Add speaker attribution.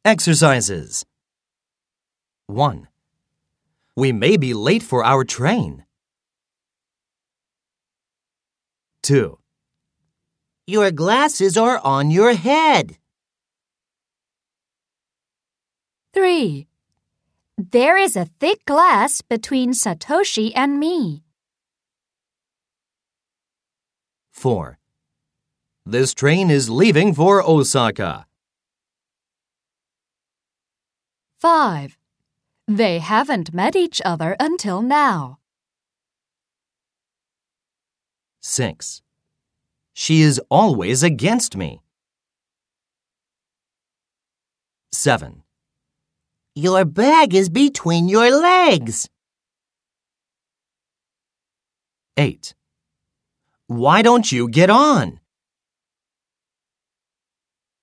Speaker 1: Exercises. 1. We may be late for our train. 2.
Speaker 2: Your glasses are on your head.
Speaker 3: 3. There is a thick glass between Satoshi and me.
Speaker 1: 4. This train is leaving for Osaka.
Speaker 3: 5. They haven't met each other until now.
Speaker 1: 6. She is always against me. 7.
Speaker 2: Your bag is between your legs.
Speaker 1: 8. Why don't you get on?